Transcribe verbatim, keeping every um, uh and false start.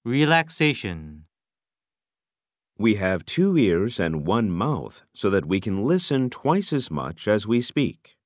Relaxation. We have two ears and one mouth so that we can listen twice as much as we speak.